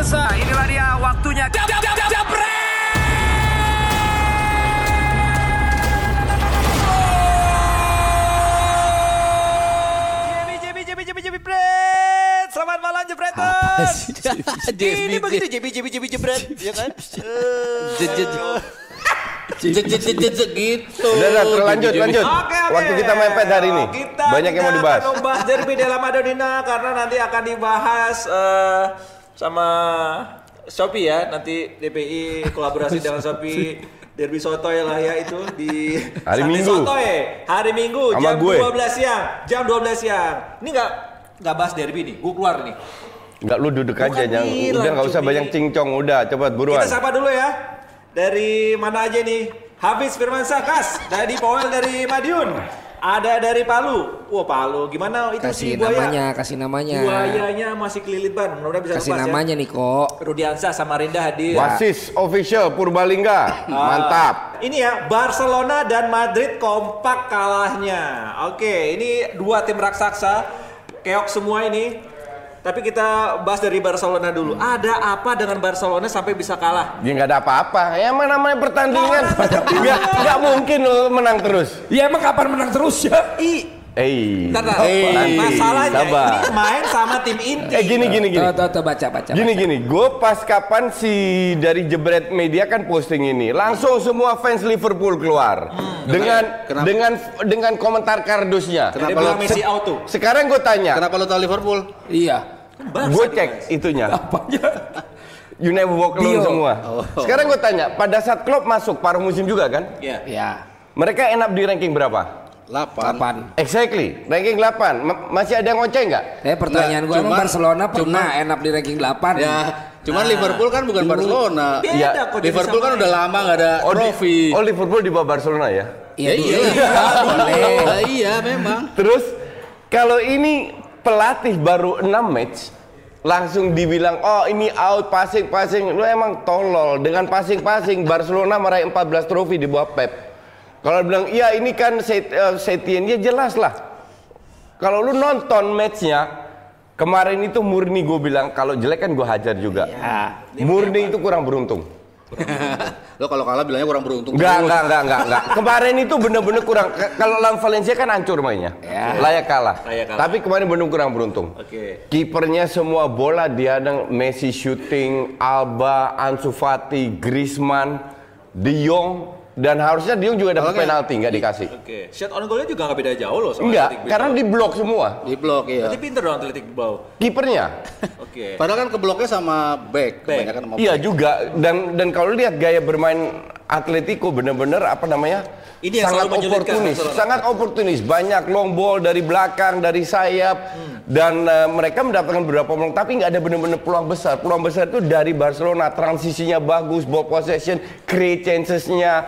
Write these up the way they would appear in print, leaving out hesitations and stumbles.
pemirsa, inilah dia waktunya. Jebret. Selamat malam Jebreters. Ini begitu Jebret, ya kan? Gitu. Udah, lanjut. Oke. Waktu kita mepet hari ini. Banyak yang mau dibahas. Kita akan membahas derby Della Madonnina karena nanti akan dibahas sama Shopee ya. Nanti DPI kolaborasi dengan Shopee. Derby Sotoy lah ya itu di hari Sunday Minggu. Sotoy. Hari Minggu sama jam gue. 12 siang. Jam 12 siang. Ini enggak bahas derby nih. Gue keluar nih. Enggak, lu duduk Bukan aja, jangan. bilang, Udah enggak usah Cumi. banyak cincong, udah cepet buruan. Kita sapa dulu ya. Dari mana aja nih? Hafiz Firmansyah Kas dari Powell dari Madiun. Ada dari Palu. Wah, Palu. Gimana itu si buaya? Kasih namanya. Buayanya masih kelilit ban. Mudah-mudahan bisa Kasih lepas namanya ya. nih kok. Rudiansyah sama Rinda hadir. Wasis official Purbalingga. Mantap. Ini ya, Barcelona dan Madrid kompak kalahnya. Oke, ini dua tim raksasa. Keok semua ini. Tapi kita bahas dari Barcelona dulu. Ada apa dengan Barcelona sampai bisa kalah? Ya nggak ada apa-apa. Ya emang namanya pertandingan. Nggak mungkin lo menang terus. Ya emang kapan menang terus ya? Bentar, nanti. masalahnya Sabar. ini main sama tim inti. Gini. Tuh, baca. Gini. Gue pas kapan si dari Jebret Media kan posting ini, langsung semua fans Liverpool keluar dengan komentar kardusnya. Dia bilang Messi out tuh. Sekarang gue tanya, Kenapa lo tahu Liverpool? Iya. gue cek itunya. Apanya? You never walk alone Dio. semua. Sekarang gue tanya, pada saat Klopp masuk paruh musim juga kan? Iya. Ya. Mereka end up di ranking berapa? 8. Exactly, ranking 8. Masih ada yang ngoceh nggak? Pertanyaan gue emang Barcelona pernah enak di ranking 8. Ya, cuman Liverpool kan bukan Barcelona. Beda Ya, kok dia Liverpool bisa kan main. udah lama nggak ada trofi. Liverpool di bawah Barcelona ya? Iya. Boleh. Iya, memang. Terus kalau ini pelatih baru 6 match langsung dibilang oh ini out passing lu emang tolol. Dengan passing Barcelona meraih 14 trofi di bawah Pep. Kalau bilang iya ini kan Setien, ya jelas lah. Kalau lu nonton matchnya kemarin itu murni gue bilang kalau jelek kan gue hajar juga. Ya. Murni itu kurang beruntung. Lo kalau kalah bilangnya kurang beruntung. Enggak. Kemarin itu bener-bener kurang. Kalau lawan Valencia kan hancur mainnya. Ya. Layak kalah. Layak kalah. Tapi kemarin bener kurang beruntung. Oke. Kipernya semua bola diadang, Messi shooting, Alba, Ansu Fati, Griezmann, De Jong, dan harusnya De Jong juga dapat penalti nggak dikasih. Oke. Shot on goalnya juga nggak beda jauh loh sama Enggak, Athletic karena Bilbao. diblok semua. Di blok ya. Berarti pinter dong Athletic Bilbao. Kipernya. Oke. Padahal kan kebloknya sama back. Kebanyakan sama Iya back. juga. Dan kalau lihat gaya bermain Atletico bener-bener apa namanya? Ini yang sangat selalu menyulitkan oportunis, Barcelona. sangat oportunis. Banyak long ball dari belakang, dari sayap, dan mereka mendapatkan beberapa peluang, tapi nggak ada benar-benar peluang besar. Peluang besar itu dari Barcelona, transisinya bagus, ball possession, create chances-nya,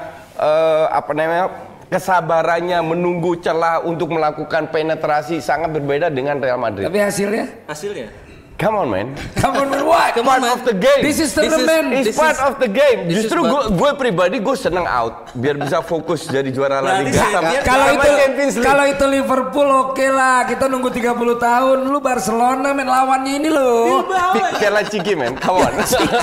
kesabarannya menunggu celah untuk melakukan penetrasi sangat berbeda dengan Real Madrid. Tapi hasilnya? Hasilnya. Come on man. Come on, what? Part of the game. This is tournament. It's part of the game. Justru gue pribadi gue seneng out biar bisa fokus jadi juara La Berarti Liga. Setien Kalau itu Liverpool oke lah, kita nunggu 30 tahun. Lu Barcelona main lawannya ini loh. Kayak Ciki men, come on.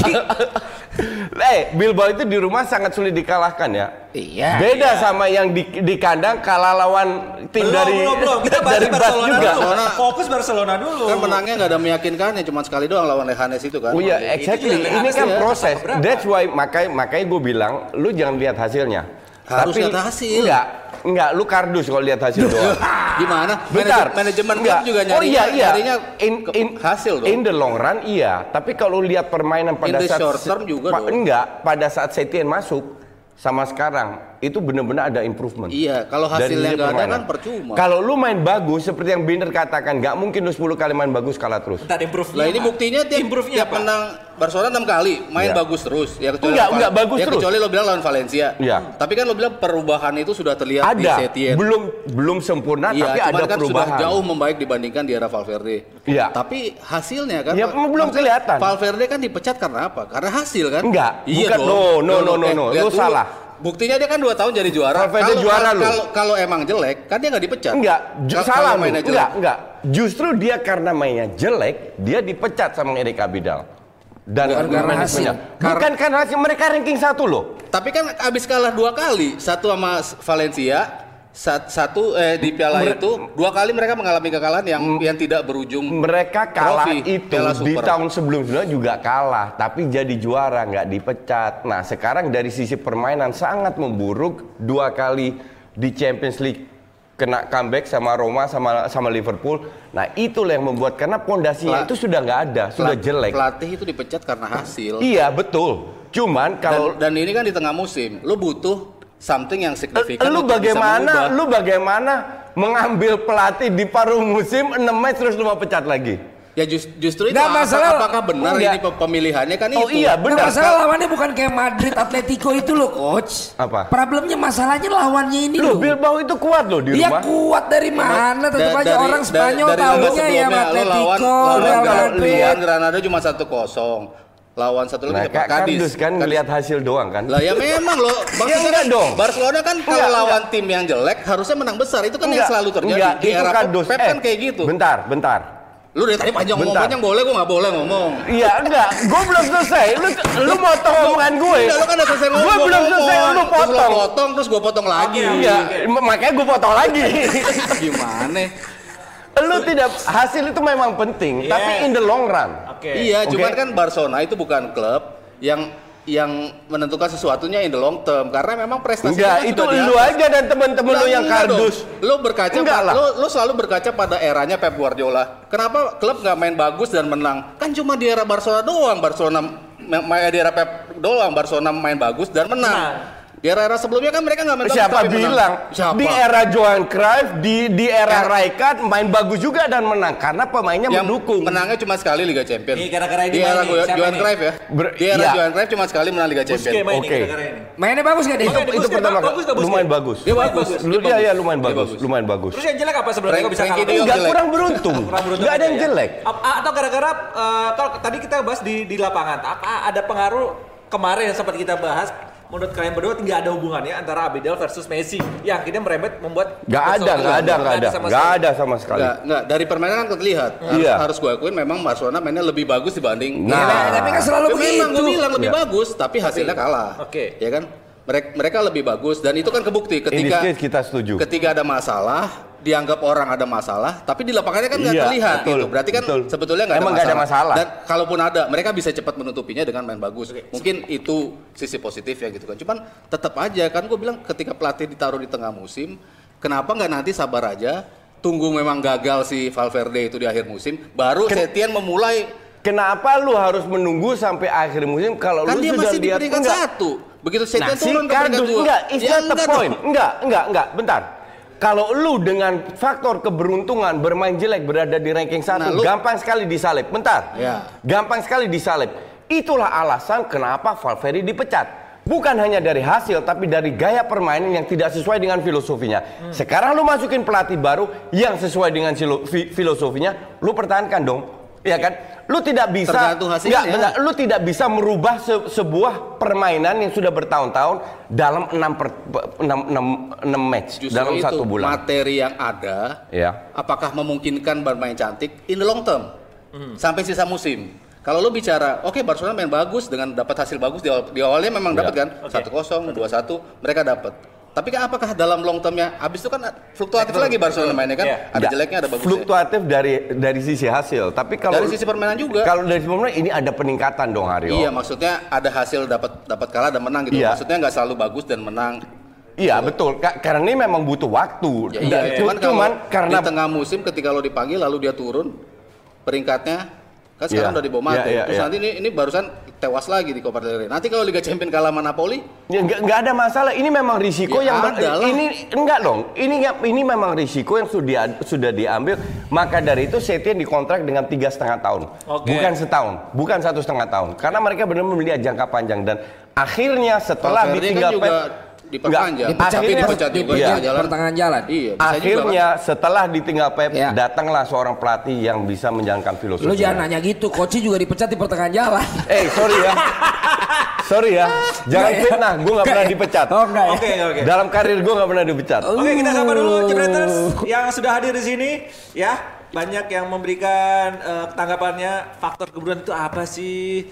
Bilbao itu di rumah sangat sulit dikalahkan ya. Iya. Beda sama yang di kandang kalah lawan tim Belum. Kita bahas dari Bas Barcelona juga. dulu. Fokus Barcelona dulu. Kan menangnya nggak ada meyakinkan ya, cuma sekali doang lawan Leganes itu kan. Oh iya, exactly. Ini kan proses. That's why makanya gue bilang, lu jangan lihat hasilnya. Harus lihat hasil. Enggak, lu kardus kalau lihat hasil doang. Gimana? Bentar. Manajemen Enggak. klub juga Iya. nyarinya In hasil dong. In the long run iya, tapi kalau lihat permainan pada In the saat short term juga dong. enggak, pada saat Setien masuk sama sekarang itu benar-benar ada improvement. Iya, kalau Dari hasilnya sisi nggak ada permainan. kan percuma. Kalau lu main bagus seperti yang Binder katakan, nggak mungkin lu 10 kali main bagus kalah terus. Bentar, improve-nya Lah ini apa? buktinya Improve-nya tiap apa? menang Barcelona 6 kali main Iya. bagus terus. Ya kecuali Enggak bagus terus. Kecuali lo bilang lawan Valencia. Iya. Tapi kan lo bilang perubahan itu sudah terlihat di Ada, Setien. belum sempurna Iya, tapi cuman ada kan perubahan. sudah jauh membaik dibandingkan di era Valverde. Iya. Tapi hasilnya kan Ya, belum maksudnya kelihatan. Valverde kan dipecat karena apa? Karena hasil kan? Enggak, Iya bukan. dong. No. Lihat Lu dulu. salah. Buktinya dia kan 2 tahun jadi juara. Valverde juara lu. Kalau emang jelek, kan dia nggak dipecat. Enggak, salah lu. mainnya jelek. Enggak. Justru dia karena mainnya jelek, dia dipecat sama Erik Abidal. dan manajemennya. Bukan karena hasil, mereka ranking 1 loh. Tapi kan abis kalah 2 kali, satu sama Valencia, satu di Piala itu 2 kali mereka mengalami kekalahan yang tidak berujung. Mereka kalah trofi, itu Piala di Super. tahun sebelumnya juga kalah, tapi jadi juara, nggak dipecat. Nah sekarang dari sisi permainan sangat memburuk, 2 kali di Champions League kena comeback sama Roma sama Liverpool. Nah itulah yang membuat, karena pondasinya itu sudah nggak ada, sudah jelek. Pelatih itu dipecat karena hasil. Iya betul. Cuman kalau dan ini kan di tengah musim, lu butuh something yang signifikan. lu bagaimana mengambil pelatih di paruh musim 6 match terus lu mau pecat lagi? Ya justru itu Nggak, masalah- apakah benar Enggak. ini pemilihannya kan Oh itu. iya Nah, benar. masalah lawannya bukan kayak Madrid, Atletico itu loh, coach. Apa? Problemnya masalahnya lawannya ini Lu loh. Bilbao itu kuat loh di Dia rumah. kuat dari mana? Tetap aja orang Spanyol dari laga tahunya ya sebelumnya, lo Atletico, lawan Real kalau Madrid. lihat Granada cuma 1-0. Lawan satu Nah, lagi Cadiz. Kardus kan ngelihat hasil doang kan. Lah ya memang loh. Ya enggak dong. Barcelona kan kalau Enggak, lawan tim yang jelek harusnya menang besar. Itu kan yang selalu terjadi. Enggak, Di itu era kardus. Pep kan kayak gitu. Bentar. Lu dari tadi panjang Bentar. ngomong boleh, gua nggak boleh ngomong. Iya enggak, gue belum selesai. Lu motong omongan gue. Udah, lu kan udah selesai ngomong. Gue belum selesai, lu Terus lu potong. potong, terus gua potong lagi. Iya, makanya gue potong lagi. Gimana? Lu tidak, hasil itu memang penting, Yes. tapi in the long run. Oke. Iya, Oke. cuman kan Barcelona itu bukan klub yang menentukan sesuatunya in the long term, karena memang prestasinya Enggak, kan itu sudah di lu atas. aja dan temen-temen lu yang Enggak kardus. dong. Lu berkaca Enggak lah. lu selalu berkaca pada eranya Pep Guardiola. Kenapa klub nggak main bagus dan menang? Kan cuma di era Barcelona doang, di era Pep doang Barcelona main bagus dan menang. Di era-era sebelumnya kan mereka nggak main bagus Siapa tapi menang. bilang? Siapa? Di era Johan Cruyff, di era Rijkaard main bagus juga dan menang karena pemainnya yang mendukung. menangnya cuma sekali Liga Champions. Ini gara-gara ini di era main nih, siapa Johan ini? Cruyff ya. Di era Iya. Johan Cruyff cuma sekali menang Liga Busquets Champions. main Oke. ini gara-gara ini. Mainnya bagus gak deh? Oke. Itu Busquets pertama bagus nggak Busquets? lumayan bagus. Dia bagus. Iya lumayan Dia bagus, lumayan bagus. Terus yang jelek apa sebenarnya? Kok bisa Frankie kalah? De Jong Enggak, jelek. kurang beruntung. Kurang beruntung Enggak ada aja yang ya. jelek. Atau gara-gara kalau tadi kita bahas di lapangan, apa ada pengaruh kemarin yang sempat kita bahas? Menurut kalian berdua nggak ada hubungannya antara Abidal versus Messi yang akhirnya merembet membuat Nggak ada sama sekali. Enggak, dari permainan kan terlihat. Iya. Harus gue akuin memang Barcelona mainnya lebih bagus dibanding. Nah. Tapi kan selalu Ya, memang begitu. gue bilang lebih Iya. bagus, tapi hasilnya kalah. Oke. Ya kan? Mereka lebih bagus dan itu kan kebukti In this ketika case kita setuju. ketika ada masalah, dianggap orang ada masalah, tapi di lapangannya kan nggak Iya, terlihat betul, gitu. Berarti kan betul. sebetulnya nggak ada Emang nggak ada masalah. Dan kalaupun ada, mereka bisa cepat menutupinya dengan main bagus. Mungkin itu sisi positif ya gitu kan. Cuman tetap aja kan gue bilang ketika pelatih ditaruh di tengah musim, kenapa nggak nanti sabar aja, tunggu memang gagal si Valverde itu di akhir musim, baru Setien memulai. Kenapa lu harus menunggu sampai akhir musim kalau Kan lu dia sudah masih di lihat peringkat enggak? 1. Begitu Setien Nah, si turun ke peringkat kardus 2. enggak, it's not the point. dong. Enggak, bentar. Kalau lu dengan faktor keberuntungan bermain jelek berada di ranking 1, Nah, lu- gampang sekali disalib. Bentar. Ya. Gampang sekali disalib. Itulah alasan kenapa Valverde dipecat. Bukan hanya dari hasil, tapi dari gaya permainan yang tidak sesuai dengan filosofinya. Sekarang lu masukin pelatih baru yang sesuai dengan filosofinya, lu pertahankan dong. Iya kan? Lu tidak bisa Tergantung hasilnya. benar, lu tidak bisa merubah sebuah permainan yang sudah bertahun-tahun dalam 6 match Justru dalam itu 1 bulan. materi yang ada, Ya. apakah memungkinkan bermain cantik in the long term sampai sisa musim. Kalau lo bicara, oke Barcelona main bagus dengan dapat hasil bagus di awalnya memang dapat kan 1-0, 2-1 mereka dapat. Tapi kan apakah dalam long termnya, abis itu kan fluktuatif lagi Barcelona mainnya kan, Iya. ada Nggak, jeleknya ada bagusnya. fluktuatif dari sisi hasil, tapi kalau Dari sisi permainan juga. Kalau dari sisi permainan ini ada peningkatan dong Haryo. Iya, maksudnya ada hasil dapat kalah dan menang gitu. Iya. Maksudnya nggak selalu bagus dan menang. Iya betul, karena ini memang butuh waktu. Ya, iya, Cuman karena di tengah musim ketika lo dipanggil lalu dia turun peringkatnya kan sekarang Iya. udah di bawah Mate. Iya, Terus iya. nanti ini barusan tewas lagi di Copa del Rey. Nanti kalau Liga Champions kalah sama Napoli, ya, nggak ada masalah. Ini memang risiko Ya, yang ada lah. ini enggak dong. Ini memang risiko yang sudah diambil. Maka dari itu Setien dikontrak dengan 3,5 tahun, Oke. bukan setahun, bukan 1,5 tahun. Karena mereka benar-benar melihat jangka panjang dan akhirnya setelah Valverde ditinggal kan juga Pep. diperpanjang. Enggak, Tapi dipecat juga Iya. di jalan. Pertengahan jalan. Iya, bisa Akhirnya setelah ditinggal Pep, Ya. datanglah seorang pelatih yang bisa menjalankan filosofi. Lu jangan nanya gitu, coach juga dipecat di pertengahan jalan. Sorry ya. Sorry ya. Jangan Nggak ya? fitnah, gue gak pernah dipecat. Oh enggak ya? Oke. Dalam karir gue gak pernah dipecat. Oke, kita sapa dulu Jebreters yang sudah hadir di sini ya. Banyak yang memberikan tanggapannya faktor keberuntungan itu apa sih?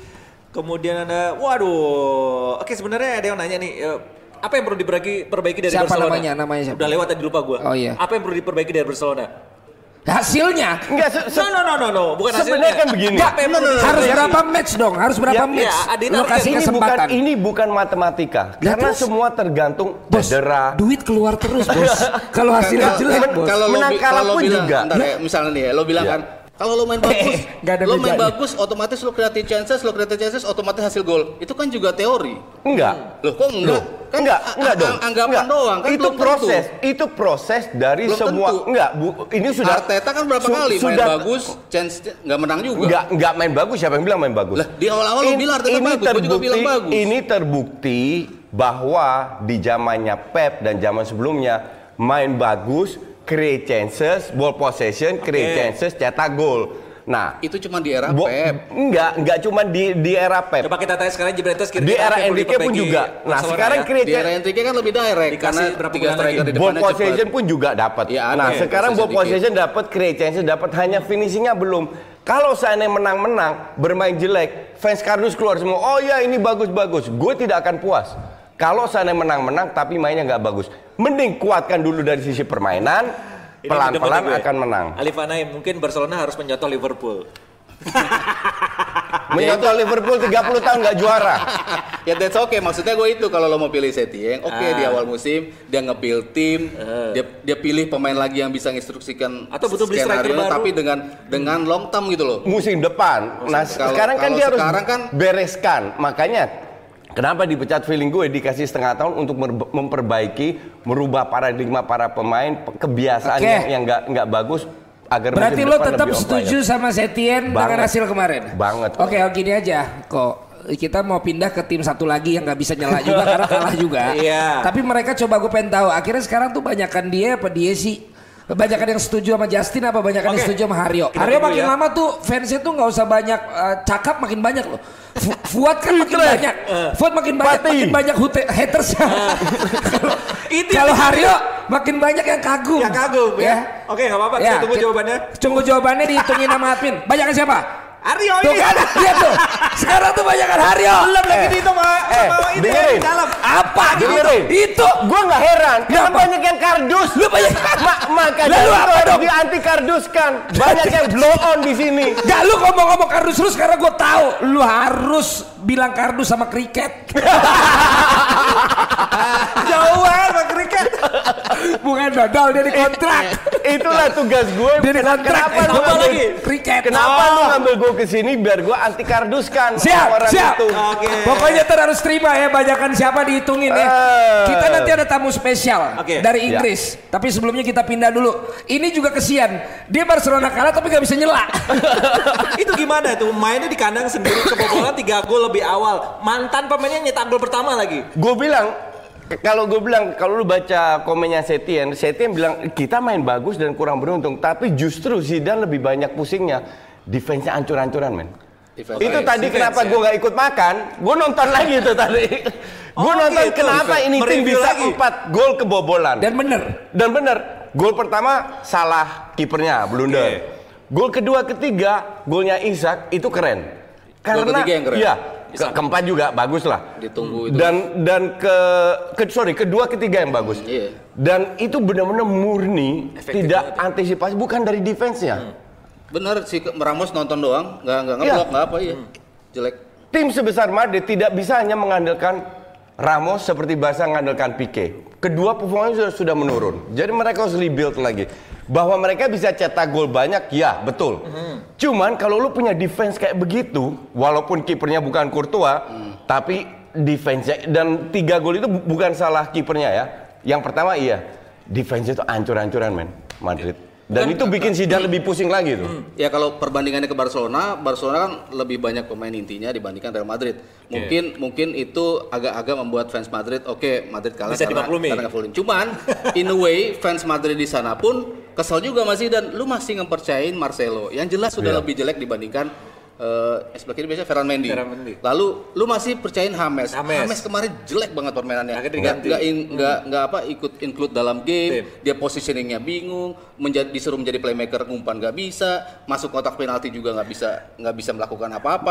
Kemudian ada, waduh, oke sebenarnya ada yang nanya nih, apa yang perlu diperbaiki dari Siapa Barcelona? namanya siapa? Udah lewat tadi lupa gue. Oh, iya. Apa yang perlu diperbaiki dari Barcelona? Hasilnya Enggak, No, bukan hasilnya. sebenarnya kan begini. Apa yang perlu harus diperbaiki? berapa match dong? Harus berapa Ya, match? ya, Adina, Lo kasih kesempatan. Ini bukan matematika. Ya, Karena terus? semua tergantung Bos, cedera. duit keluar terus, Bos. Kalau hasilnya jelek, Bos. Kalau lo Menang kalah kalau pun bilang, juga. ntar ya, misalnya nih ya, lo bilang Ya. kan, kalau lo main bagus, Nggak ada lo main bedanya. bagus, otomatis lo create chances, otomatis hasil gol. Itu kan juga teori. Enggak. Loh, kok enggak? Kan Enggak dong. Anggapan Enggak. doang kan Itu belum proses, tentu. itu proses dari Belum semua. tentu. Enggak, ini sudah Arteta kan berapa kali main sudah- bagus, chance nggak menang juga. Enggak main bagus, siapa yang bilang main bagus? Lah, di awal-awal lo bilang Arteta bagus, gue juga bilang bagus. Ini terbukti bahwa di zamannya Pep dan zaman sebelumnya main bagus, create chances, ball possession, create chances, cetak gol. Nah, Itu cuma di era Pep. enggak cuma di era Pep. Coba kita tanya sekarang Juventus Di era Enrique pun juga. Nah, sekarang create Di era Enrique kan lebih direct Dikasih karena berapa 3 bulan striker lagi? di ball depannya possession cepat. pun juga dapat. Ya, ada Nah, ya, sekarang ball possession possession dapat, create chances dapat, hanya finishingnya belum. Kalau seandainya menang-menang, bermain jelek, fans kardus keluar semua. Oh ya, ini bagus-bagus. Gue tidak akan puas. Kalau seandainya menang-menang tapi mainnya nggak bagus, mending kuatkan dulu dari sisi permainan, pelan-pelan akan menang. Alif Anaim, mungkin Barcelona harus mencontoh Liverpool. Menyontoh Liverpool 30 tahun nggak juara. Ya that's okay, maksudnya gue itu kalau lo mau pilih Setien, di awal musim dia nge-build tim, dia pilih pemain lagi yang bisa menginstruksikan Atau butuh beli striker skenario, baru. tapi dengan long term gitu loh. Musim depan. Nah, Kalau- sekarang kan kalau dia harus sekarang kan- bereskan. Makanya kenapa dipecat, feeling gue dikasih setengah tahun untuk memperbaiki, merubah paradigma para pemain, kebiasaan Oke. yang nggak bagus agar Berarti musim lo depan tetap lebih on setuju fire. sama Setien dengan Banget. hasil kemarin? Banget. Oke, gini aja kok. Kita mau pindah ke tim satu lagi yang nggak bisa nyela juga karena kalah juga. Iya. Tapi mereka coba gue pengen tahu. Akhirnya sekarang tuh banyakan dia apa dia sih? Banyakan yang setuju sama Justin apa banyakan yang Oke. setuju sama Haryo? Kita Haryo tunggu makin ya. lama tuh fansnya tuh nggak usah banyak cakap, makin banyak loh. Fuad kan makin banyak. Fuad makin banyak, Pati. makin banyak hatersnya. Itu Kalau yang- Haryo makin banyak yang kagum. Ya kagum ya. Oke, nggak apa-apa. Kita tunggu jawabannya. Tunggu jawabannya dihitungin sama admin. Banyakan siapa? Aryo Tuh ini. kan, lihat tuh. Sekarang tuh banyakan Haryo. Belum lagi dihitung sama ini dengerin. di dalam. Apa gitu? Dengerin. Itu. Gue nggak heran, karena Kenapa? banyak yang kardus. Lu banyak. Makanya Lalu itu apa harus dong? di anti karduskan. Banyak yang blow on di sini. Gak, lu ngomong-ngomong kardus terus karena gue tahu lu harus bilang kardus sama kriket. Jauhan Bang Kriket. Bukan dodol dia dikontrak. Itulah tugas gue. Dia dikontrak. Kenapa lu Apa ngambil lagi? Kriket. Kenapa lu ngambil gue ke sini biar gue anti karduskan Siap, orang siap. itu. Oke. Pokoknya ntar harus terima ya banyakan siapa dihitungin ya. Kita nanti ada tamu spesial Oke. dari Inggris. Tapi sebelumnya kita pindah dulu. Ini juga kesian. Dia Barcelona kalah tapi gak bisa nyela. Itu gimana tuh? Mainnya di kandang sendiri kebobolan 3 gol lebih awal. Mantan pemainnya nyetak gol pertama lagi. Gue bilang, kalau lu baca komennya Setien bilang kita main bagus dan kurang beruntung, tapi justru Zidane lebih banyak pusingnya, defense-nya ancur-ancuran, men. Defense. Itu tadi defense, kenapa ya. gue nggak ikut makan, gue nonton lagi itu tadi. Gue nonton gitu. kenapa ini tim Mereview bisa lagi. 4 gol kebobolan. Dan bener. Dan bener, gol pertama salah kipernya, blunder. Gol kedua, ketiga, golnya Isak itu keren. Karena ketiga yang keren? Iya, keempat juga bagus lah. Ditunggu itu. Dan kedua, ketiga yang bagus. Iya. Dan itu benar-benar murni, Efektif tidak banget antisipasi, bukan dari defense-nya. Bener si Ramos nonton doang, nggak Iya. ngeblok, nggak apa ya. Jelek. Tim sebesar Madrid tidak bisa hanya mengandalkan Ramos seperti Barca mengandalkan Pique. Kedua performanya sudah menurun. Jadi mereka harus rebuild lagi. Bahwa mereka bisa cetak gol banyak, ya betul. Cuman kalau lu punya defense kayak begitu, walaupun kipernya bukan Courtois, tapi defense-nya, dan 3 gol itu bukan salah kipernya ya. Yang pertama iya, defense itu ancur-ancuran, men, Madrid. Dan itu bikin Zidane lebih pusing lagi tuh. Ya kalau perbandingannya ke Barcelona kan lebih banyak pemain intinya dibandingkan Real Madrid. Mungkin itu agak-agak membuat fans Madrid, Madrid kalah Bisa dimaklumi. karena full. Cuman in a way fans Madrid di sana pun kesel juga masih, dan lu masih ngepercayain Marcelo yang jelas sudah lebih jelek dibandingkan sebelah kiri biasanya Ferran Mendy. Lalu lu masih percayain James kemarin jelek banget permainannya. Akhirnya diganti. Nggak ikut include dalam game. Dia positioningnya bingung, disuruh menjadi playmaker umpan nggak bisa, masuk kotak penalti juga nggak bisa melakukan apa-apa.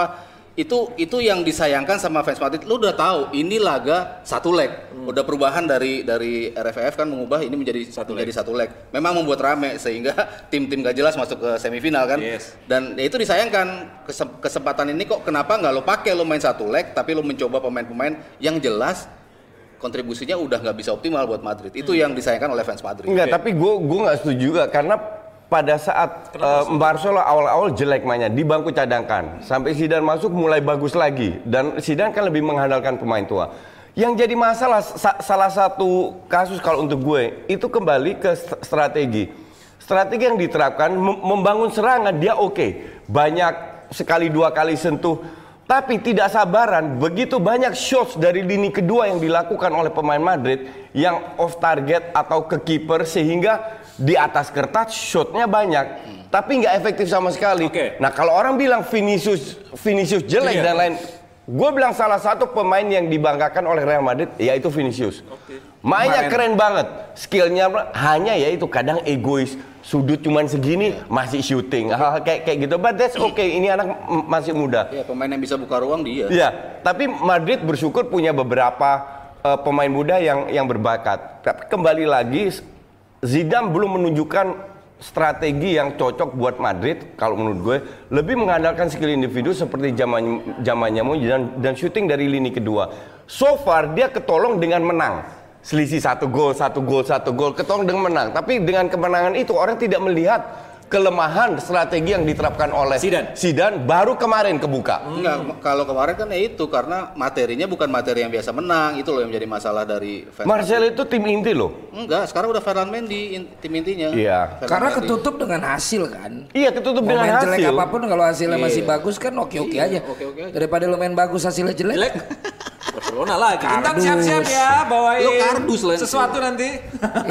itu yang disayangkan sama fans Madrid. Lu udah tahu ini laga satu leg. Udah perubahan dari RFF kan mengubah ini menjadi satu leg. Memang membuat rame sehingga tim-tim gak jelas masuk ke semifinal kan. Yes. Dan ya itu disayangkan kesempatan ini kok kenapa nggak lo pakai, lo main satu leg tapi lo mencoba pemain-pemain yang jelas kontribusinya udah nggak bisa optimal buat Madrid. Itu yang disayangkan oleh fans Madrid. Enggak, tapi gue nggak setuju juga karena pada saat Barcelona awal-awal jelek mainnya di bangku cadangkan sampai Zidane masuk mulai bagus lagi dan Zidane kan lebih mengandalkan pemain tua. Yang jadi masalah salah satu kasus kalau untuk gue itu kembali ke strategi yang diterapkan membangun serangan dia oke. Banyak sekali 2 kali sentuh tapi tidak sabaran begitu banyak shots dari lini kedua yang dilakukan oleh pemain Madrid yang off target atau ke kiper sehingga di atas kertas shotnya banyak, tapi nggak efektif sama sekali. Nah kalau orang bilang Vinicius jelek dan lain, gue bilang salah satu pemain yang dibanggakan oleh Real Madrid yaitu Vinicius. Mainnya keren banget, skillnya hanya yaitu kadang egois, sudut cuman segini masih shooting, hal kayak gitu. But that's okay, ini anak masih muda. Ya pemain yang bisa buka ruang dia. Ya, tapi Madrid bersyukur punya beberapa pemain muda yang berbakat. Tapi kembali lagi. Zidane belum menunjukkan strategi yang cocok buat Madrid kalau menurut gue lebih mengandalkan skill individu seperti zamannya dan shooting dari lini kedua. So far dia ketolong dengan menang. Selisih 1 gol ketolong dengan menang. Tapi dengan kemenangan itu orang tidak melihat kelemahan strategi yang diterapkan oleh Zidane baru kemarin kebuka. Enggak, kalau kemarin kan ya itu karena materinya bukan materi yang biasa menang, itu loh yang menjadi masalah dari fans. Marcel itu tim inti loh. Enggak, sekarang udah Ferland Mendy tim intinya. Iya. Karena ketutup dengan hasil kan. Iya, ketutup dengan hasil. Jelek apapun kalau hasilnya masih bagus kan oke-oke aja. Daripada lo main bagus hasilnya jelek. Barcelona lagi. Intan siap-siap ya bawain lo kardus lah sesuatu nanti.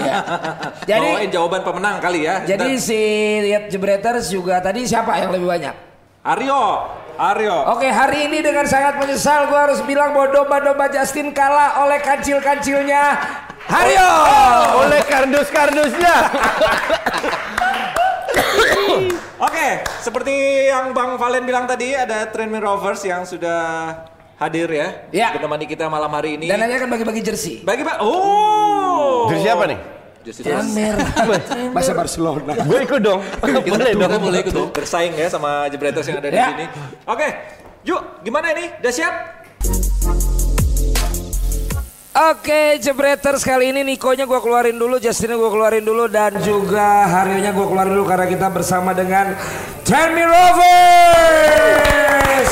Jadi bawain jawaban pemenang kali ya. Jadi si Lihat Jebreters juga tadi siapa yang lebih banyak? Aryo. Oke, hari ini dengan sangat menyesal gue harus bilang bahwa domba-domba Justin kalah oleh kancil-kancilnya Aryo. Oleh kardus-kardusnya. Oke, seperti yang Bang Valen bilang tadi ada Tranmere Rovers yang sudah hadir ya. Menemani kita malam hari ini. Dan nanti akan bagi-bagi jersey. Jersey apa nih? Bahasa Barcelona. Gue ikut dong. Boleh ikut dong. Bersaing ya sama Jebreters yang ada di sini. Oke, yuk gimana ini? Udah siap? Oke, Jebreters kali ini Nikonya gue keluarin dulu, Justinnya gue keluarin dulu, dan juga Haryonya gue keluarin dulu karena kita bersama dengan Tranmere Rovers.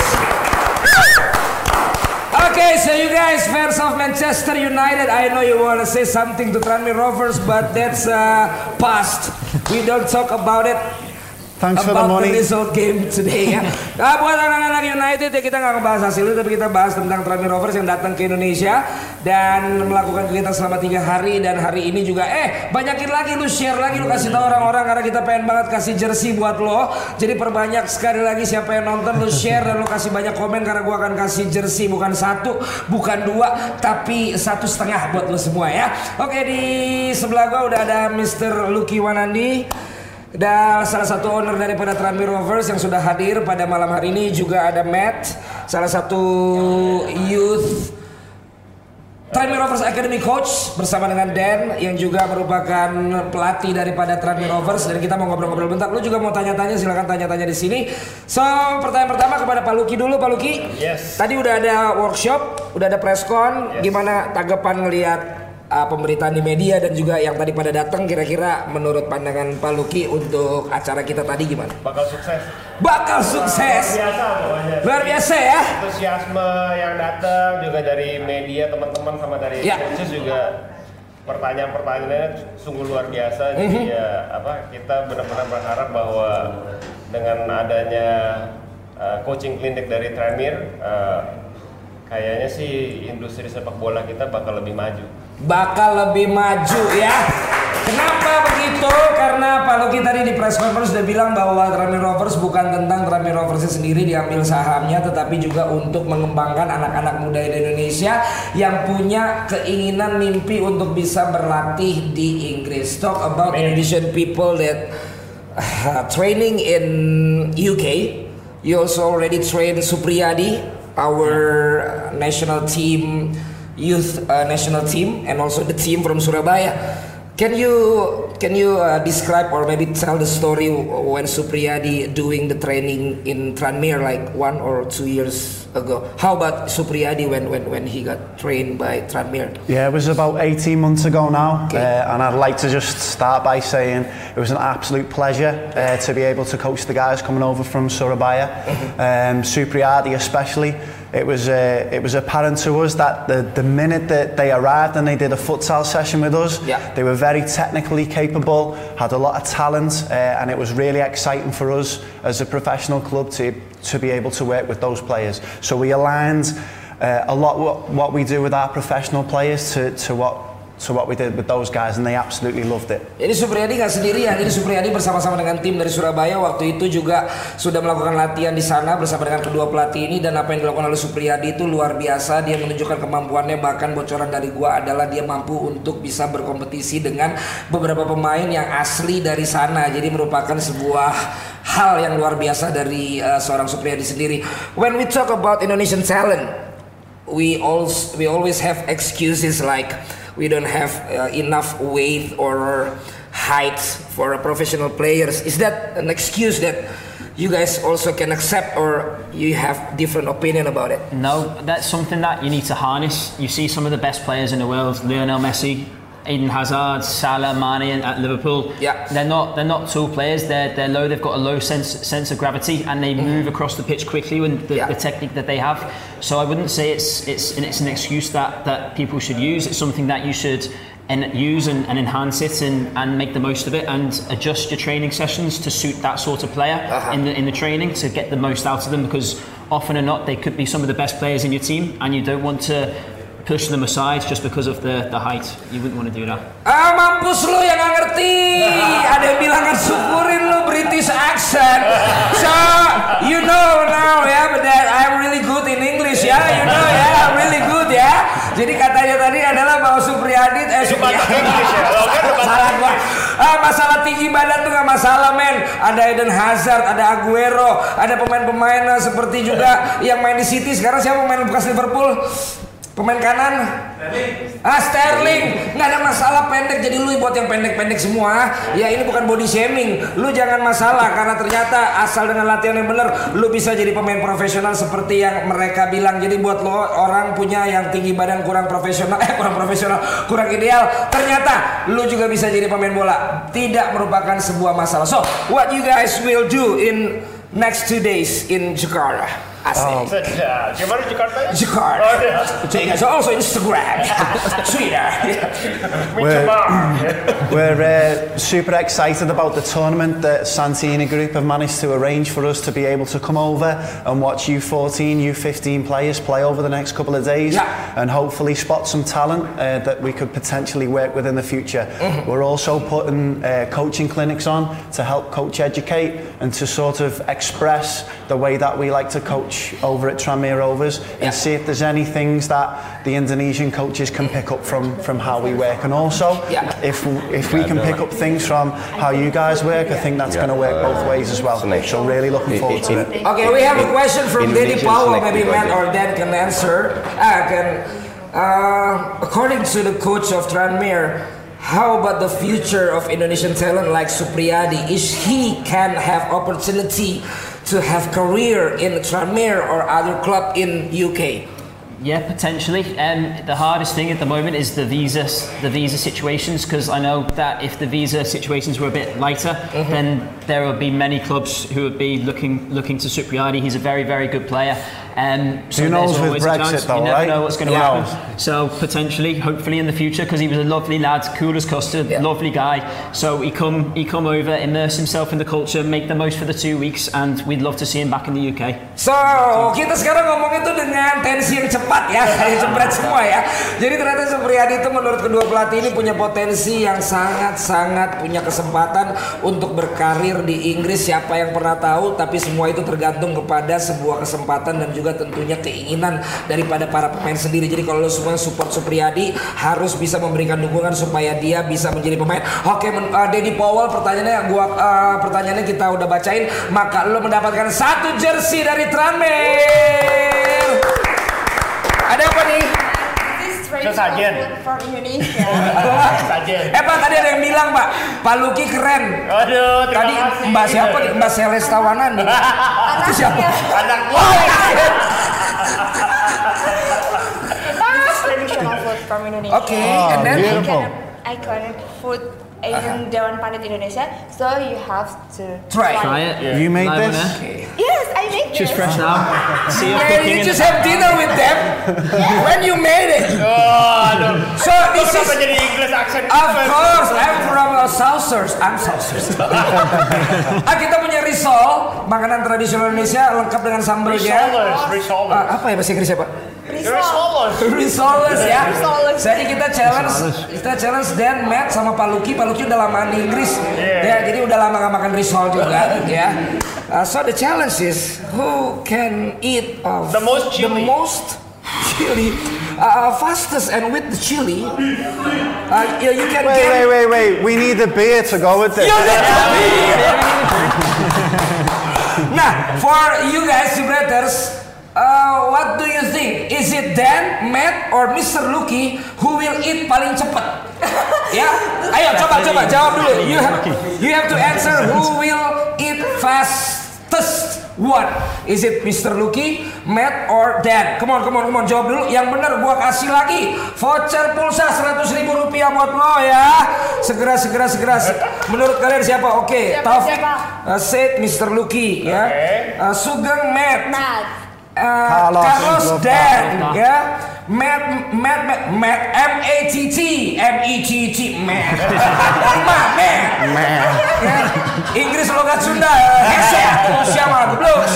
Okay, so you guys, fans of Manchester United, I know you want to say something to Tranmere Rovers, but that's past. We don't talk about it. Thanks for the money. The result game today ya. Buat anak-anak United ya kita nggak ngebahas hasilnya, tapi kita bahas tentang Tranmere Rovers yang datang ke Indonesia dan melakukan kegiatan selama 3 hari, dan hari ini juga banyakin lagi, lu share lagi, lu kasih tahu orang-orang karena kita pengen banget kasih jersey buat lo. Jadi perbanyak sekali lagi siapa yang nonton, lu share dan lu kasih banyak komen karena gua akan kasih jersey bukan 1, bukan 2, tapi 1,5 buat lo semua ya. Oke, di sebelah gua udah ada Mr. Lucky Wanandi. Dan salah satu owner daripada Tranmere Rovers yang sudah hadir pada malam hari ini. Juga ada Matt, salah satu youth Tranmere Rovers Academy Coach, bersama dengan Dan yang juga merupakan pelatih daripada Tranmere Rovers. Dan kita mau ngobrol-ngobrol bentar. Lu juga mau tanya-tanya, silakan tanya-tanya di sini. So, pertanyaan pertama kepada Pak Lucky dulu. Pak Lucky, tadi udah ada workshop, udah ada press-con. Gimana tanggapan ngelihat pemberitaan di media dan juga yang tadi pada datang, kira-kira menurut pandangan Pak Lucky untuk acara kita tadi gimana? Bakal sukses. Bakal sukses. Luar biasa pokoknya. Luar biasa ya. Antusiasme yang datang juga dari media, teman-teman, sama dari coaches juga. Pertanyaan-pertanyaannya sungguh luar biasa. Jadi kita benar-benar berharap bahwa dengan adanya coaching klinik dari Tranmere, kayaknya sih industri sepak bola kita bakal lebih maju. Bakal lebih maju ya. Kenapa begitu? Karena Pak Lucky tadi di press conference sudah bilang bahwa Tranmere Rovers bukan tentang Tranmere Rovers sendiri diambil sahamnya, tetapi juga untuk mengembangkan anak-anak muda di Indonesia yang punya keinginan, mimpi untuk bisa berlatih di Inggris. Talk about Indonesian people that training in UK. you also already trained Supriyadi, our national team, youth national team, and also the team from Surabaya. Can you describe or maybe tell the story when Supriyadi doing the training in Tranmere like 1 or 2 years ago? How about Supriyadi when he got trained by Tranmere? Yeah, it was about 18 months ago now, and I'd like to just start by saying it was an absolute pleasure to be able to coach the guys coming over from Surabaya, Supriyadi especially. It was apparent to us that the minute that they arrived and they did a futsal session with us, they were very technically capable, had a lot of talent, and it was really exciting for us as a professional club to be able to work with those players. So we aligned a lot what we do with our professional players to what we did with those guys, and they absolutely loved it. Jadi Supriyadi nggak sendirian, jadi Supriyadi bersama-sama dengan tim dari Surabaya waktu itu juga sudah melakukan latihan di sana bersama dengan kedua pelatih ini, dan apa yang dilakukan oleh Supriyadi itu luar biasa. Dia menunjukkan kemampuannya, bahkan bocoran dari gua adalah dia mampu untuk bisa berkompetisi dengan beberapa pemain yang asli dari sana. Jadi merupakan sebuah hal yang luar biasa dari seorang Supriyadi sendiri. When we talk about Indonesian talent, we always have excuses like we don't have enough weight or height for professional players. Is that an excuse that you guys also can accept, or you have different opinion about it? No, that's something that you need to harness. You see some of the best players in the world, Lionel Messi, Eden Hazard, Salah, Mane at Liverpool. Yeah. They're not tall players. They're low. They've got a low sense of gravity, and they move across the pitch quickly with the technique that they have. So I wouldn't say it's an excuse that people should use. It's something that you should use and enhance it and make the most of it, and adjust your training sessions to suit that sort of player in the training to get the most out of them, because often or not they could be some of the best players in your team, and you don't want to push them aside just because of the height. You wouldn't want to do that. Mampus lu yang gak ngerti. Ada yang bilang syukurin lu British accent. So you know now but that I'm really good in English you know I'm really good Jadi katanya tadi adalah bahwa Supriyadi salah gua. Masalah tinggi badan tuh gak masalah men. Ada Eden Hazard, ada Aguero, ada pemain-pemain seperti juga yang main di City. Sekarang siapa pemain bekas Liverpool? Pemain kanan Sterling. Nggak ada masalah pendek. Jadi lu buat yang pendek-pendek semua ya, ini bukan body shaming. Lu jangan masalah, karena ternyata asal dengan latihan yang benar lu bisa jadi pemain profesional seperti yang mereka bilang. Jadi buat lo orang punya yang tinggi badan kurang kurang ideal, ternyata lu juga bisa jadi pemain bola. Tidak merupakan sebuah masalah. So what you guys will do in next 2 days in Jakarta? Gimana Jakarta? So also Instagram, Twitter. We're super excited about the tournament that Santini Group have managed to arrange for us to be able to come over and watch U14, U15 players play over the next couple of days, and hopefully spot some talent that we could potentially work with in the future. We're also putting coaching clinics on to help coach educate and to sort of express the way that we like to coach over at Tranmere Rovers, and see if there's any things that the Indonesian coaches can pick up from how we work, and also if we can pick up things from how you guys work, I think that's going to work both ways as well. So really looking forward to it. Okay, we have a question from Denny Powell. Maybe Matt or Dan can answer. According to the coach of Tranmere, how about the future of Indonesian talent like Supriyadi? Is he can have opportunity to have career in Tranmere or other club in UK? Yeah, potentially. The hardest thing at the moment is the visa situations, because I know that if the visa situations were a bit lighter, then there would be many clubs who would be looking to Supriyadi. He's a very, very good player. So who knows with Brexit though, you right? never know what's going to happen. So potentially, hopefully in the future, because he was a lovely lad, cool as custard, lovely guy. So he come over, immerse himself in the culture, make the most for the 2 weeks, and we'd love to see him back in the UK. So kita sekarang ngomong itu dengan tensi yang cepat kayak jempret semua Jadi ternyata Supriyadi itu menurut kedua pelatih ini punya potensi yang sangat-sangat punya kesempatan untuk berkarir terakhir di Inggris siapa yang pernah tahu, tapi semua itu tergantung kepada sebuah kesempatan dan juga tentunya keinginan daripada para pemain sendiri. Jadi kalau lo semua support Supriyadi harus bisa memberikan dukungan supaya dia bisa menjadi pemain. Oke, Denny Powell, pertanyaannya kita udah bacain, maka lo mendapatkan 1 jersey dari Tranmere. Ada apa nih? Sajen from Indonesia. Sajen. Pak, tadi ada yang bilang Pak Luki keren. Aduh, tadi Mbak siapa? Mbak Seles Tawanan. Itu siapa? Anak Traditional food from Indonesia. Okay, and then iconic food in Dewan Pandit Indonesia, so you have to try it. Yeah. You made Live this? Yes, I made Just this. fresh now. See you Yeah, you just have dinner with them when you made it. So this is jadi English accent. of course I'm from Southers. I'm Southers. Kita punya risol, makanan tradisional Indonesia lengkap dengan sambalnya. Risoles. Apa ya bahasa Inggrisnya Pak? Risoles. Ya. Risoles. Jadi kita challenge Dan, Matt sama Pak Luki. Pak Luki udah lama di Inggris. Ya, jadi udah lama gak makan risol juga ya. So the challenge is who can eat the most chili. Fastest and with the chili. You can Wait. We need a beer to go with this. Nah, for you guys, you brothers, what do you think? Is it Dan, Matt, or Mr. Lucky who will eat paling cepat? Ya, ayo coba jawab dulu. You have to answer who will eat fastest one. Is it Mr. Lucky, Matt, or Dan? Come on, jawab dulu. Yang benar gua kasih lagi voucher pulsa 100.000 rupiah buat lo ya. Segera. Menurut kalian siapa? Oke, Taufik said Mr. Lucky ya. Sugeng Matt. Carlos Dan ya. Matt M-A-T-T Matt. Ya. Inggris logat Sunda. Siapa? Belum.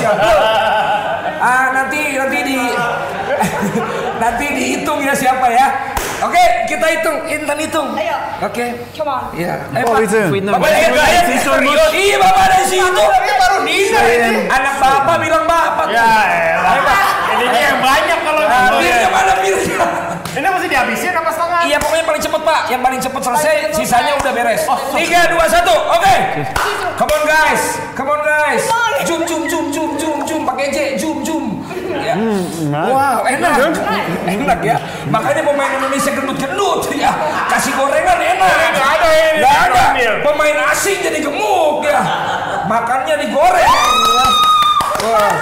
Nanti dihitung ya siapa ya. Oke, kita hitung. Intan hitung. Ayo. Oke. Come on. Ya. What are we doing? Bapak iya bapak ada di situ. Baru dinner. Anak bapak bilang bapak. Ya elah. Ini yang banyak kalau Birnya mana birnya? Ini mesti dihabisin apa setengah? Iya pokoknya paling cepet Pak. Yang paling cepet selesai, sisanya udah beres. 3, 2, 1. Oke. Come on guys. Jum. Pakai J. Jum. Ya. Wow, enak ya. Makanya pemain Indonesia gendut ya. Kasih gorengan enak. Nggak ada. Pemain asing jadi gemuk ya. Makannya digoreng. Wah.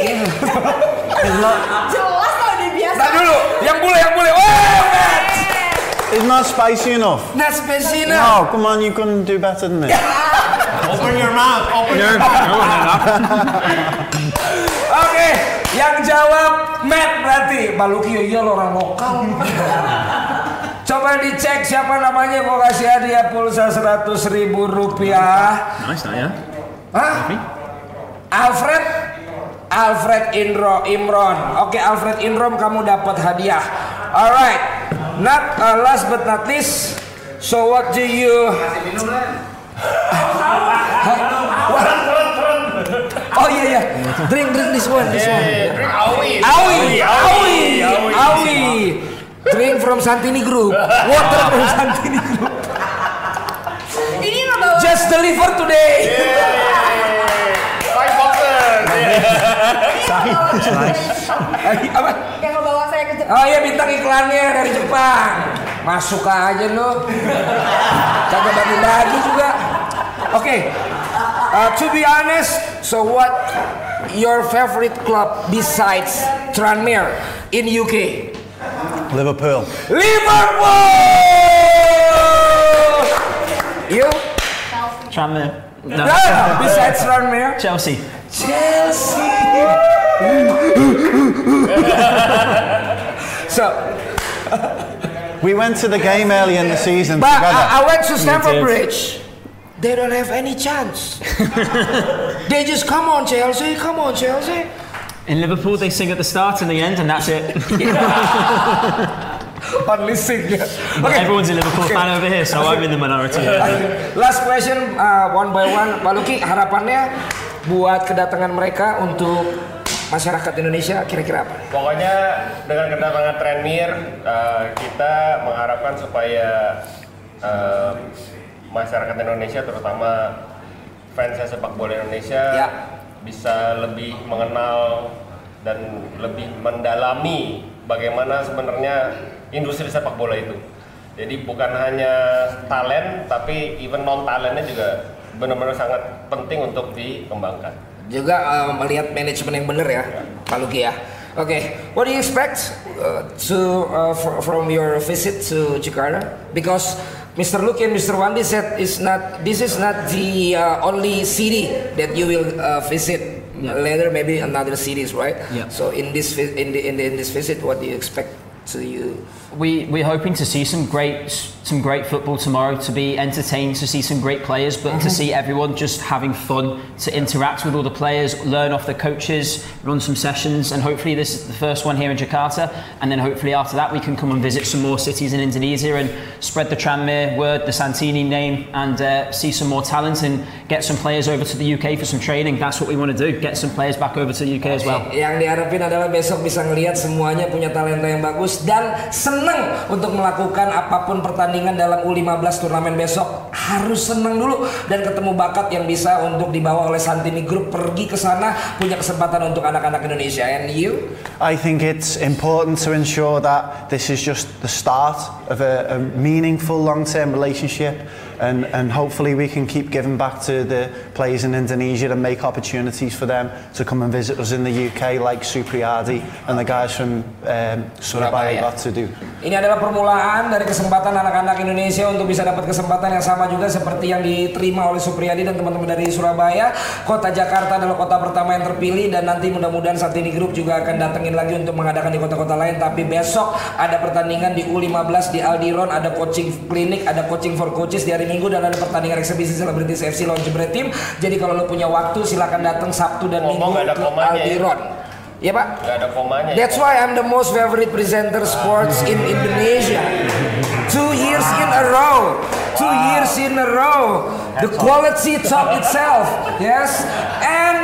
Jelas kalau dia biasa. Nah dulu, yang bule. Wah, Matt. It's not spicy enough. Not spicy enough. No, come on, you couldn't do better than this. Open your mouth. Oke, yang jawab Matt berarti Pak Luki. Iya lo orang lokal. Coba dicek siapa namanya, gua kasih hadiah pulsa 100.000 rupiah. Nice, ya. Hah? Alfred Imron. Oke, Alfred Imron kamu dapat hadiah. Alright. Not last but not least. So what do you? Oh iya. Drink this one. Awi. Drink from Santini Group. Water from Santini Group. Ini ngebawa. Just deliver today. Apa? Yang ngebawa saya ke Jepang. Oh iya, bintang iklannya dari Jepang. Masuk aja lo. Kagak bagi-bagi juga. Oke. To be honest, so what your favorite club besides Tranmere in UK? Liverpool. You? Tranmere. No. Besides Tranmere? Chelsea. So we went to the game early in the season but together. I went to Stamford Bridge. They don't have any chance. They just come on Chelsea. In Liverpool, they sing at the start and the end, and that's it. Unleashing. Everyone's a Liverpool fan over here, so I'm in the minority. Last question, one by one. Pak Luki, harapannya buat kedatangan mereka untuk masyarakat Indonesia kira-kira apa? Pokoknya dengan kedatangan Tranmere, kita mengharapkan supaya masyarakat Indonesia, terutama fans sepak bola Indonesia, bisa lebih mengenal dan lebih mendalami bagaimana sebenarnya industri sepak bola itu. Jadi bukan hanya talent, tapi even non talentnya juga benar-benar sangat penting untuk dikembangkan. Juga melihat manajemen yang benar ya, Pak Luki ya. Okay, what do you expect from your visit to Jakarta? Because Mr. Luki and Mr. Wandi said this is not the only city that you will visit. Later, maybe another cities, right? Yeah. So in this visit, what do you expect to you? We're hoping to see some great football tomorrow, to be entertained, to see some great players, but to see everyone just having fun, to interact with all the players, learn off the coaches, run some sessions, and hopefully this is the first one here in Jakarta, and then hopefully after that we can come and visit some more cities in Indonesia and spread the Tranmere word, the Santini name, and see some more talent and get some players over to the UK for some training. That's what we want to do, get some players back over to the UK as well. Yang diharapin adalah besok bisa ngelihat semuanya punya talenta yang bagus dan senang untuk melakukan apapun pertandingan dalam U15 turnamen besok. Harus senang dulu dan ketemu bakat yang bisa untuk dibawa oleh Santini Group pergi ke sana, punya kesempatan untuk anak-anak Indonesia. And you? I think it's important to ensure that this is just the start of a meaningful long-term relationship, and hopefully we can keep giving back to the players in Indonesia and make opportunities for them to come and visit us in the UK like Supriyadi and the guys from Surabaya got to do. Ini adalah permulaan dari kesempatan anak-anak Indonesia untuk bisa dapat kesempatan yang sama juga seperti yang diterima oleh Supriyadi dan teman-teman dari Surabaya. Kota Jakarta adalah kota pertama yang terpilih dan nanti mudah-mudahan Santini Group juga akan datengin lagi untuk mengadakan di kota-kota lain. Tapi besok ada pertandingan di U15 di Aldiron, ada coaching klinik, ada coaching for coaches di hari Minggu, dan ada pertandingan eksebisi Celebrities FC lawan Jebret Team. Jadi kalau lo punya waktu silakan datang Sabtu dan Minggu ke Aldiron. Ya Pak? Gak ada komanya. That's why I'm the most favorite presenter sports in Indonesia. 2 years in a row. 2 years in a row. The quality talk itself. Yes. And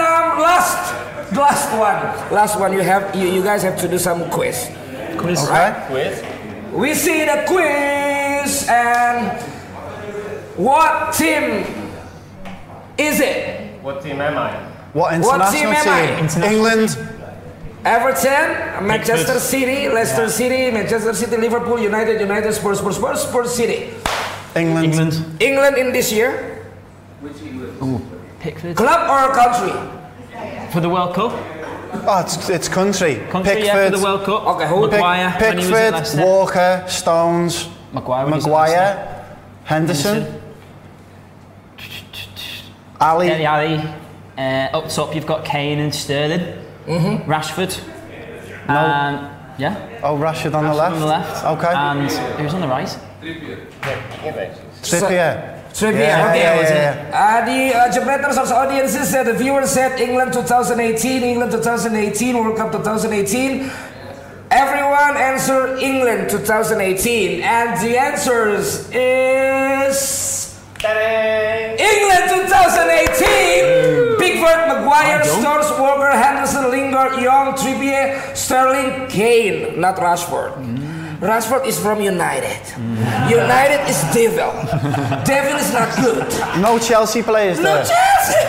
last one. You guys have to do some quiz. Quiz. Alright? Quiz. We see the quiz, and what team is it? What team am I? What international team? England. Everton, Manchester City, Leicester City, Manchester City, Liverpool, United, Spurs City. England in this year? Which England? Pickford. Club or country? For the World Cup? Oh, it's country. Country, yeah, for the World Cup. Okay, who? Maguire, Pickford, Walker, Stones, Maguire, Henderson, Ali. Up top you've got Kane and Sterling. Rashford. No. Yeah. Oh, Rashford on the left. Okay. And who's on the right? Trippier. Yeah. The Jebreters audiences said, the viewers said England 2018, World Cup 2018. Everyone answered England 2018, and the answers is England 2018. Pickford, Maguire, Stones, Walker, Henderson, Lingard, Young, Trippier, Sterling, Kane, not Rashford. Rashford is from United. United is devil. Devil is not good. No Chelsea players there. No Chelsea.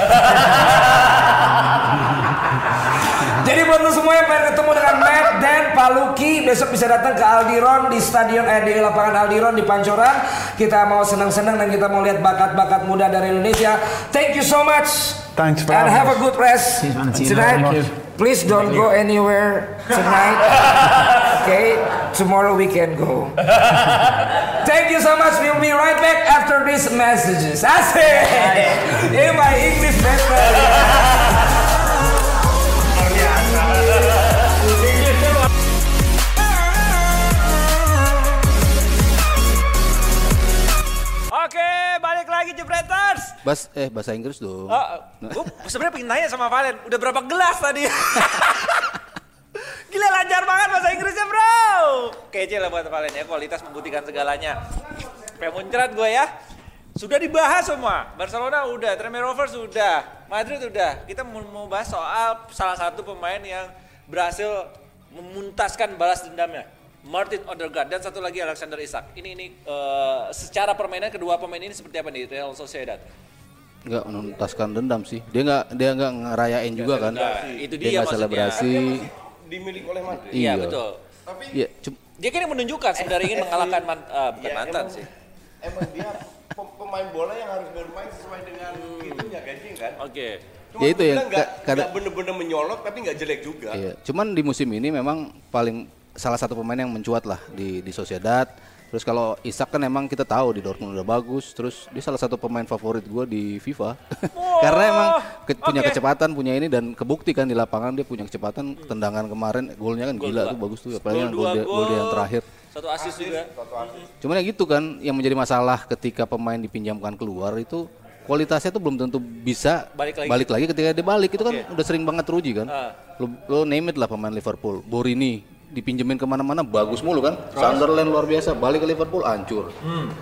Jadi buat lo semua yang pengen ketemu dengan Matt dan Pak Luki, besok bisa datang ke Aldiron di di lapangan Aldiron di Pancoran. Kita mau senang-senang dan kita mau lihat bakat-bakat muda dari Indonesia. Thank you so much. Thanks for and having have us. a good rest tonight. Please don't go anywhere tonight. Okay, tomorrow we can go. Thank you so much. We'll be right back after these messages. Asik. In my English better. Oke, balik lagi Jebreters. Bahasa Inggris dong. Gue sebenarnya pengen nanya sama Valen, udah berapa gelas tadi? Gila lancar banget bahasa Inggrisnya bro. Oke, kece lah buat Valen ya, kualitas membuktikan segalanya. Sampai muncrat gue ya. Sudah dibahas semua. Barcelona udah, Tranmere Rovers udah, Madrid udah. Kita mau bahas soal salah satu pemain yang berhasil memuntaskan balas dendamnya. Martin Odegaard dan satu lagi Alexander Isak. Ini secara permainan kedua pemain ini seperti apa nih Real Sociedad? Nggak menuntaskan dendam sih. Dia nggak ngerayain juga kan. Itu dia maksudnya. Selebrasi. Dimiliki oleh Madrid. Iya betul. Tapi dia kan menunjukkan sebenarnya ingin mengalahkan bukan mantan sih. Emang dia pemain bola yang harus bermain sesuai dengan itunya gaji kan. Oke. Ya itu ya. Nggak bener-bener menyolok tapi nggak jelek juga. Iya. Cuman di musim ini memang salah satu pemain yang mencuat lah di Sociedad. Terus kalau Isak kan emang kita tahu di Dortmund udah bagus. Terus dia salah satu pemain favorit gue di FIFA. Karena emang punya kecepatan, punya ini dan kebukti kan di lapangan dia punya kecepatan. Tendangan kemarin golnya kan gila tuh bagus tuh. Apalagi gol dia yang terakhir. Satu assist juga. Cuman ya gitu kan yang menjadi masalah ketika pemain dipinjamkan keluar itu kualitasnya tuh belum tentu bisa balik lagi ketika dia balik. Itu kan udah sering banget teruji kan. Lo name it lah pemain Liverpool, Borini dipinjemin kemana-mana bagus mulu kan. Sunderland luar biasa, balik ke Liverpool hancur.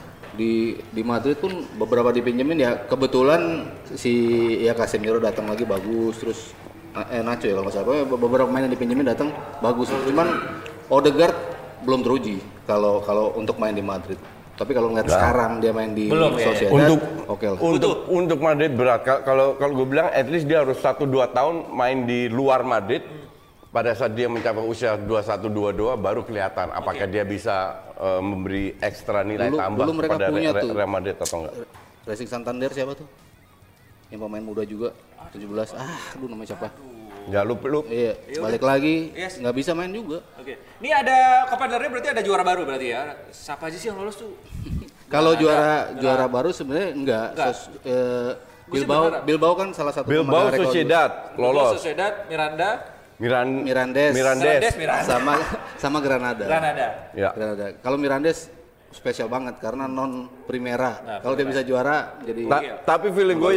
Di Madrid pun beberapa dipinjemin ya kebetulan si Casemiro datang lagi bagus, terus Nacho ya kalau nggak salah, beberapa pemain yang dipinjemin datang bagus. Cuman Odegaard belum teruji kalau untuk main di Madrid. Tapi kalau ngeliat sekarang dia main di Sociedad, untuk Madrid berat. Kalau gue bilang at least dia harus 1-2 tahun main di luar Madrid. Pada saat dia mencapai usia 21-22 baru kelihatan apakah dia bisa memberi ekstra nilai tambah kepada Real Madrid atau enggak. Racing Santander siapa tuh? Yang pemain muda juga 17. Aduh namanya siapa? Ya lu. Iya, balik lagi nggak bisa main juga. Oke. Ini ada Copa del Rey berarti ada juara baru berarti ya. Siapa aja sih yang lolos tuh? Kalau juara baru sebenarnya enggak. Bilbao kan salah satu Bilbao Sociedad lolos. Sociedad, Mirandes sama Granada. Ya. Granada. Kalau Mirandes spesial banget karena non Primera. Kalau dia bisa juara jadi tapi feeling gue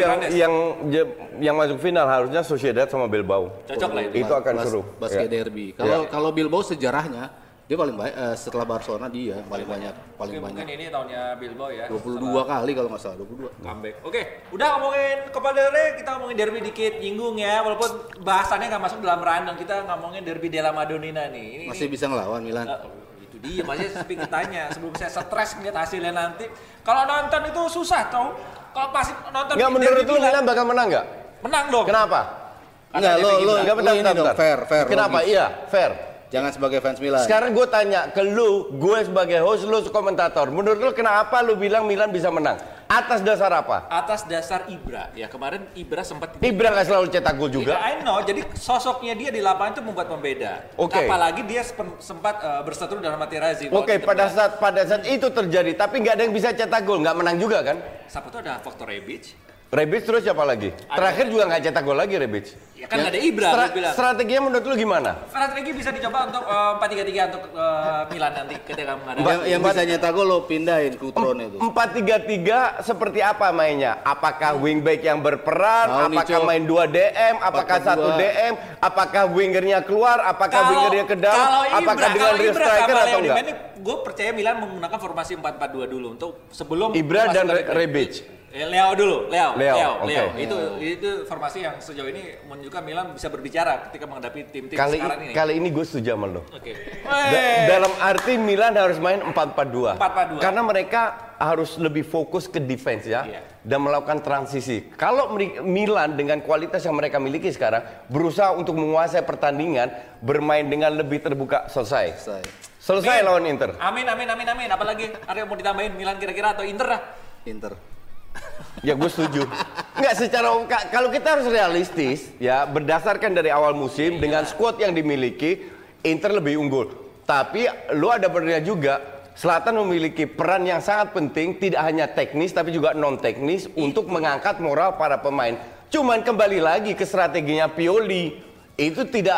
yang masuk final harusnya Sociedad sama Bilbao. Cocok lah itu. Itu akan seru. Basket derby. Kalau Bilbao sejarahnya dia paling baik setelah Barcelona dia paling banyak. Mungkin ini tahunnya Bilbao ya. 22 kali kalau nggak salah 22. Comeback. Oke, udah ngomongin Copa del Rey, kita ngomongin derby dikit, nyinggung ya. Walaupun bahasannya nggak masuk dalam random, kita ngomongin derby della Madonnina nih. Masih bisa ngelawan Milan. Itu dia, masih speak tanya sebelum saya stres ngeliat hasilnya nanti. Kalau nonton itu susah tau. Kalau pasti nonton. Nggak menurut lu Milan bakal menang nggak? Menang dong. Kenapa? Enggak, lo bentar. Fair. Kenapa? Iya, fair. Jangan sebagai fans Milan. Sekarang gue tanya ke lu, gue sebagai host, lu komentator. Menurut lu kenapa lu bilang Milan bisa menang? Atas dasar apa? Atas dasar Ibra. Ya kemarin Ibra sempat. Ibra nggak selalu cetak gol juga. I know. Jadi sosoknya dia di lapangan itu membuat pembeda. Oke. Apalagi dia sempat berseteru dalam Materazzi. Oke. Pada saat itu terjadi, tapi nggak ada yang bisa cetak gol, nggak menang juga kan? Siapa tuh ada faktor Rebic. Rebic terus siapa lagi? Terakhir juga nggak cetak gol lagi Rebic. Ya kan nggak ada Ibra. Strateginya menurut lu gimana? Strategi bisa dicoba untuk 4-3-3 untuk Milan nanti ketika menghadapi. Yang bisa nyetak gol lo pindahin Coutron itu. 4-3-3 seperti apa mainnya? Apakah wingback yang berperan? Apakah main 2 DM? Apakah 1 DM? Apakah wingernya keluar? Apakah wingernya ke dalam? Apakah dengan real striker atau enggak? Gue percaya Milan menggunakan formasi 4-4-2 dulu untuk sebelum Ibra dan Rebic. Leo dulu, Leo. Okay. Itu formasi yang sejauh ini menunjukkan Milan bisa berbicara ketika menghadapi tim-tim sekarang ini. Kali ini gue setuju sama lo. Oke. Dalam arti Milan harus main 4-4-2. 4-4-2. Karena mereka harus lebih fokus ke defense ya. Dan melakukan transisi. Kalau Milan dengan kualitas yang mereka miliki sekarang berusaha untuk menguasai pertandingan, bermain dengan lebih terbuka, selesai lawan Inter. Amin. Apalagi ada yang mau ditambahin Milan kira-kira atau Inter dah? Inter. Ya gue setuju. Enggak secara kalau kita harus realistis ya berdasarkan dari awal musim dengan skuad yang dimiliki Inter lebih unggul. Tapi lu ada benernya juga Zlatan memiliki peran yang sangat penting tidak hanya teknis tapi juga non teknis untuk mengangkat moral para pemain. Cuman kembali lagi ke strateginya Pioli itu tidak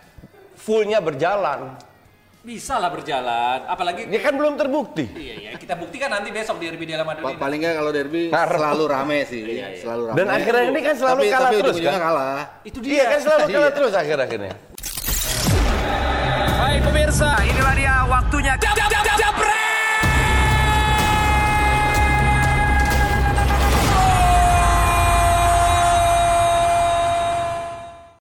fullnya berjalan. Bisa lah berjalan, apalagi dia kan belum terbukti. Iya, kita buktikan nanti besok di derby della Madonnina. Paling nggak kalau derby selalu rame sih, selalu rame. Dan akhirnya ini kan selalu kalah terus kan? Kalah. Itu dia. Iya kan selalu kalah terus akhir-akhirnya.